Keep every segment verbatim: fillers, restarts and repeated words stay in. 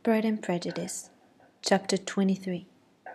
Pride and Prejudice, Chapter twenty-three.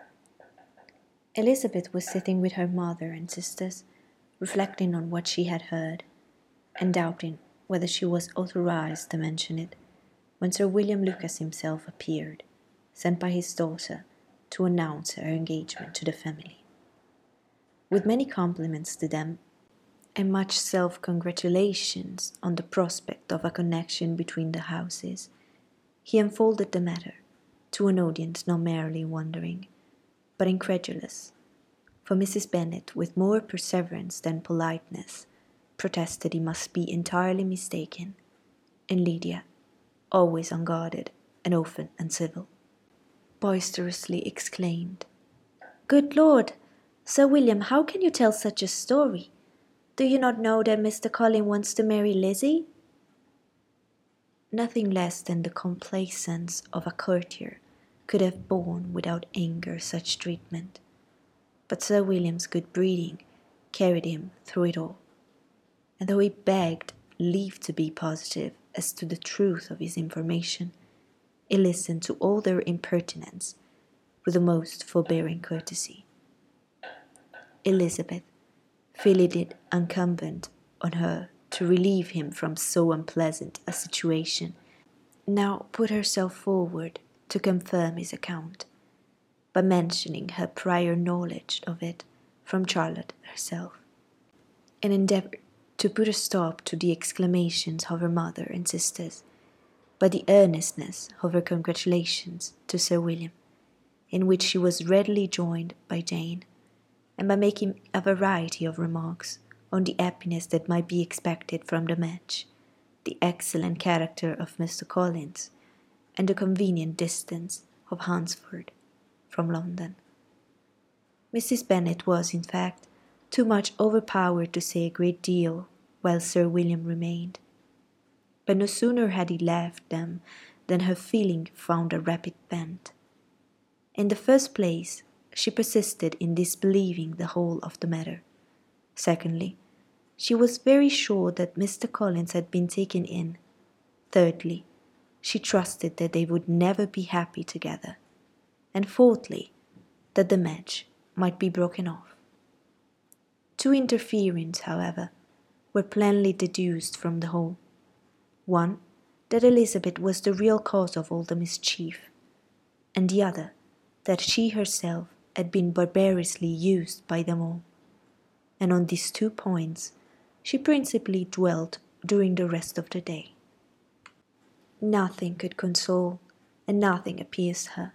Elizabeth was sitting with her mother and sisters, reflecting on what she had heard, and doubting whether she was authorized to mention it, when Sir William Lucas himself appeared, sent by his daughter to announce her engagement to the family. With many compliments to them, and much self-congratulations on the prospect of a connection between the houses, he unfolded the matter to an audience not merely wondering, but incredulous, for Missus Bennet, with more perseverance than politeness, protested he must be entirely mistaken, and Lydia, always unguarded and often uncivil, boisterously exclaimed, "Good Lord, Sir William, how can you tell such a story? Do you not know that Mister Colin wants to marry Lizzie?" Nothing less than the complacence of a courtier could have borne without anger such treatment, but Sir William's good breeding carried him through it all, and though he begged leave to be positive as to the truth of his information, he listened to all their impertinence with the most forbearing courtesy. Elizabeth, feeling it incumbent on her to relieve him from so unpleasant a situation, now put herself forward to confirm his account, by mentioning her prior knowledge of it from Charlotte herself, and endeavoured to put a stop to the exclamations of her mother and sisters by the earnestness of her congratulations to Sir William, in which she was readily joined by Jane, and by making a variety of remarks on the happiness that might be expected from the match, the excellent character of Mister Collins, and the convenient distance of Hunsford from London. Missus Bennet was, in fact, too much overpowered to say a great deal while Sir William remained, but no sooner had he left them than her feeling found a rapid vent. In the first place, she persisted in disbelieving the whole of the matter. Secondly, she was very sure that Mister Collins had been taken in. Thirdly, she trusted that they would never be happy together. And fourthly, that the match might be broken off. Two interferings, however, were plainly deduced from the whole. One, that Elizabeth was the real cause of all the mischief, and the other, that she herself had been barbarously used by them all, and on these two points she principally dwelt during the rest of the day. Nothing could console, and nothing appeased her,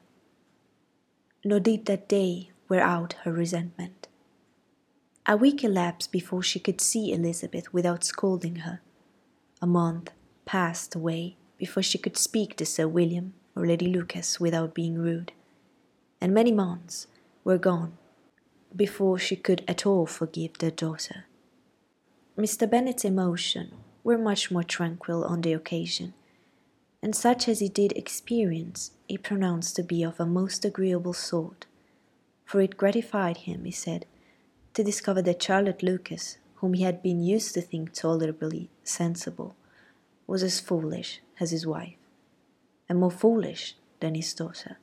nor did that day wear out her resentment. A week elapsed before she could see Elizabeth without scolding her. A month passed away before she could speak to Sir William or Lady Lucas without being rude, and many months were gone before she could at all forgive their daughter. Mister Bennet's emotions were much more tranquil on the occasion, and such as he did experience he pronounced to be of a most agreeable sort, for it gratified him, he said, to discover that Charlotte Lucas, whom he had been used to think tolerably sensible, was as foolish as his wife, and more foolish than his daughter.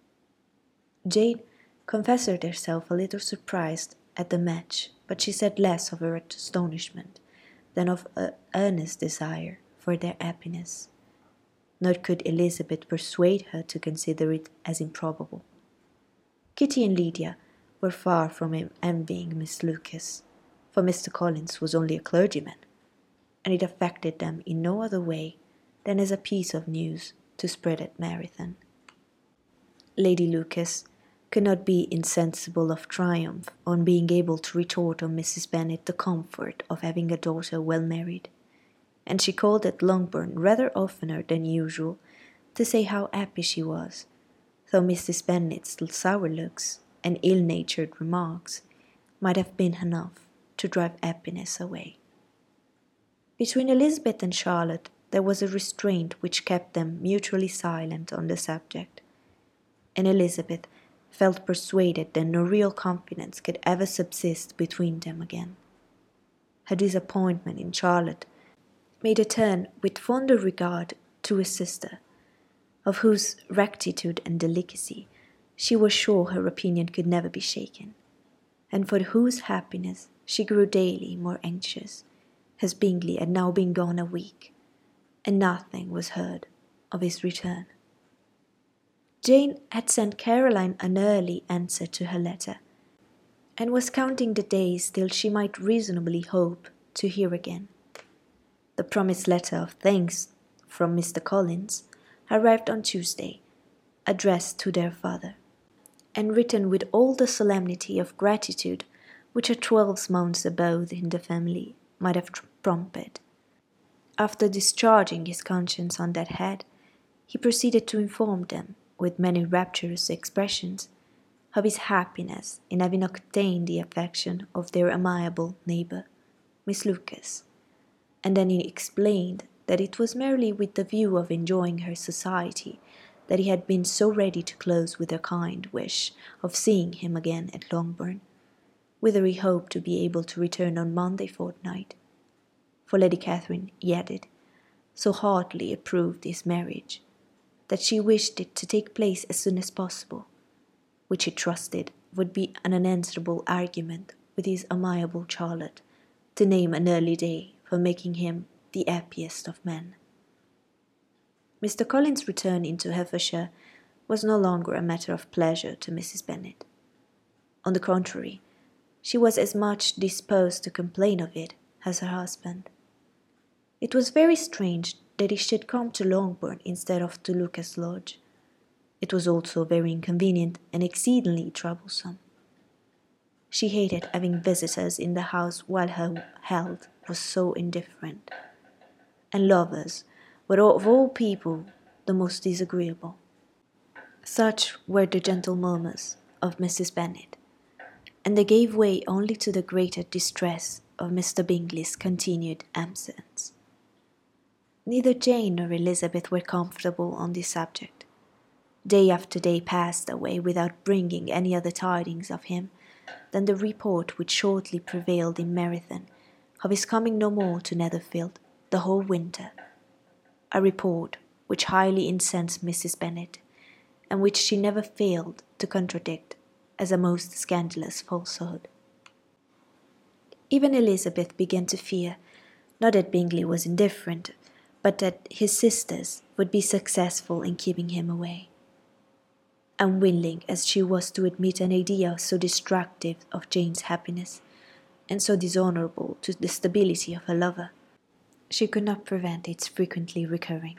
Jane confessed herself a little surprised at the match, but she said less of her astonishment than of her earnest desire for their happiness, nor could Elizabeth persuade her to consider it as improbable. Kitty and Lydia were far from envying Miss Lucas, for Mister Collins was only a clergyman, and it affected them in no other way than as a piece of news to spread at Meryton. Lady Lucas could not be insensible of triumph on being able to retort on Missus Bennet the comfort of having a daughter well married, and she called at Longbourn rather oftener than usual to say how happy she was, though Missus Bennet's sour looks and ill-natured remarks might have been enough to drive happiness away. Between Elizabeth and Charlotte there was a restraint which kept them mutually silent on the subject, and Elizabeth felt persuaded that no real confidence could ever subsist between them again. Her disappointment in Charlotte made her turn with fonder regard to his sister, of whose rectitude and delicacy she was sure her opinion could never be shaken, and for whose happiness she grew daily more anxious, as Bingley had now been gone a week, and nothing was heard of his return. Jane had sent Caroline an early answer to her letter, and was counting the days till she might reasonably hope to hear again. The promised letter of thanks from Mister Collins arrived on Tuesday, addressed to their father, and written with all the solemnity of gratitude which a twelve months' abode in the family might have prompted. After discharging his conscience on that head, he proceeded to inform them, with many rapturous expressions, of his happiness in having obtained the affection of their amiable neighbour, Miss Lucas, and then he explained that it was merely with the view of enjoying her society that he had been so ready to close with a kind wish of seeing him again at Longbourn, whither he hoped to be able to return on Monday fortnight. For Lady Catherine, he added, so heartily approved his marriage, that she wished it to take place as soon as possible, which he trusted would be an unanswerable argument with his amiable Charlotte to name an early day for making him the happiest of men. Mister Collins' return into Hertfordshire was no longer a matter of pleasure to Missus Bennet. On the contrary, she was as much disposed to complain of it as her husband. It was very strange that he should come to Longbourn instead of to Lucas Lodge. It was also very inconvenient and exceedingly troublesome. She hated having visitors in the house while her health was so indifferent, and lovers were of all people the most disagreeable. Such were the gentle murmurs of Missus Bennet, and they gave way only to the greater distress of Mister Bingley's continued absence. Neither Jane nor Elizabeth were comfortable on this subject. Day after day passed away without bringing any other tidings of him than the report which shortly prevailed in Meryton of his coming no more to Netherfield the whole winter, a report which highly incensed Missus Bennet, and which she never failed to contradict as a most scandalous falsehood. Even Elizabeth began to fear, not that Bingley was indifferent, but that his sisters would be successful in keeping him away. Unwilling as she was to admit an idea so destructive of Jane's happiness, and so dishonourable to the stability of her lover, she could not prevent its frequently recurring.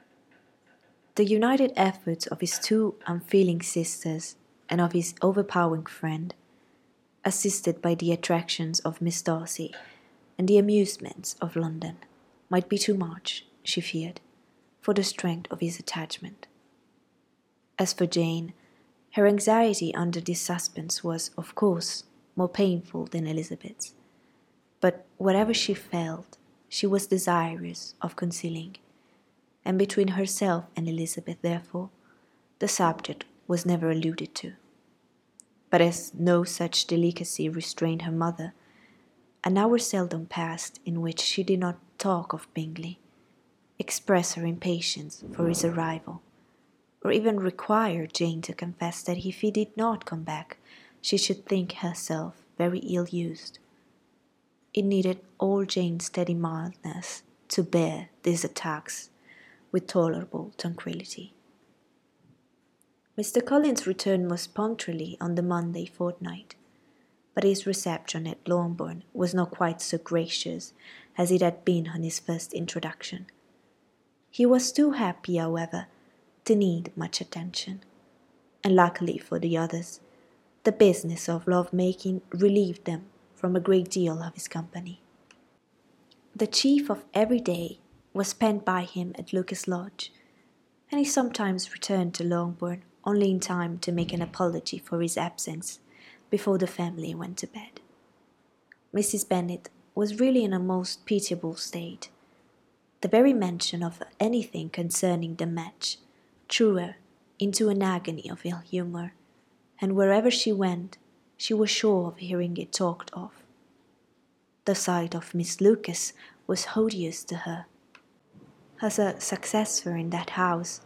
The united efforts of his two unfeeling sisters and of his overpowering friend, assisted by the attractions of Miss Darcy and the amusements of London, might be too much, she feared, for the strength of his attachment. As for Jane, her anxiety under this suspense was, of course, more painful than Elizabeth's, but whatever she felt, she was desirous of concealing, and between herself and Elizabeth, therefore, the subject was never alluded to. But as no such delicacy restrained her mother, an hour seldom passed in which she did not talk of Bingley, express her impatience for his arrival, or even require Jane to confess that if he did not come back, she should think herself very ill-used. It needed all Jane's steady mildness to bear these attacks with tolerable tranquillity. Mister Collins returned most punctually on the Monday fortnight, but his reception at Longbourn was not quite so gracious as it had been on his first introduction. He was too happy, however, to need much attention, and luckily for the others, the business of love-making relieved them from a great deal of his company. The chief of every day was spent by him at Lucas Lodge, and he sometimes returned to Longbourn only in time to make an apology for his absence before the family went to bed. Missus Bennet was really in a most pitiable state. The very mention of anything concerning the match threw her into an agony of ill humour, and wherever she went, she was sure of hearing it talked of. The sight of Miss Lucas was odious to her. As a successor in that house,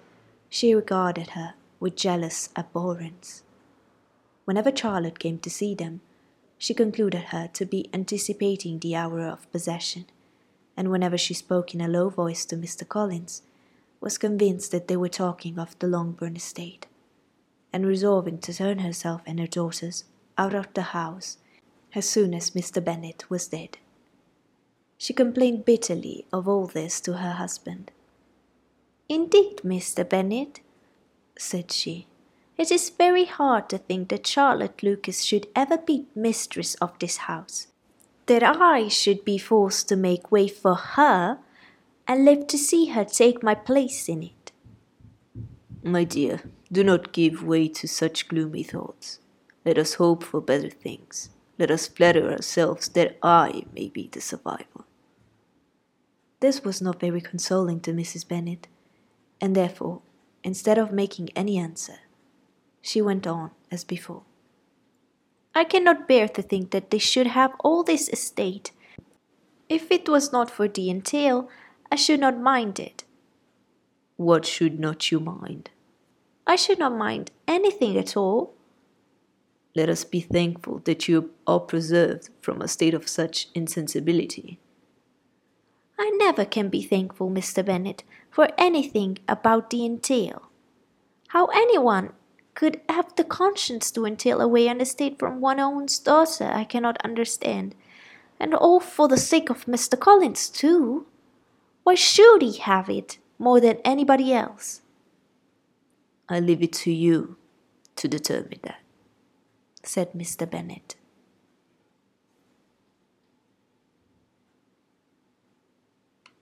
She regarded her with jealous abhorrence. Whenever Charlotte came to see them, she concluded her to be anticipating the hour of possession, and whenever she spoke in a low voice to Mister Collins, was convinced that they were talking of the Longbourn estate, and resolving to turn herself and her daughters out of the house as soon as Mister Bennet was dead. She complained bitterly of all this to her husband. "Indeed, Mister Bennet," said she, "it is very hard to think that Charlotte Lucas should ever be mistress of this house, that I should be forced to make way for her, and live to see her take my place in it." "My dear, do not give way to such gloomy thoughts. Let us hope for better things. Let us flatter ourselves that I may be the survivor." This was not very consoling to Missus Bennet, and therefore, instead of making any answer, she went on as before. "I cannot bear to think that they should have all this estate. If it was not for the entail, I should not mind it." "What should not you mind?" "I should not mind anything at all." "Let us be thankful that you are preserved from a state of such insensibility." "I never can be thankful, Mister Bennet, for anything about the entail. How any one could have the conscience to entail away an estate from one's own daughter I cannot understand, and all for the sake of Mister Collins too. Why should he have it more than anybody else?" "I leave it to you to determine that," said Mister Bennet.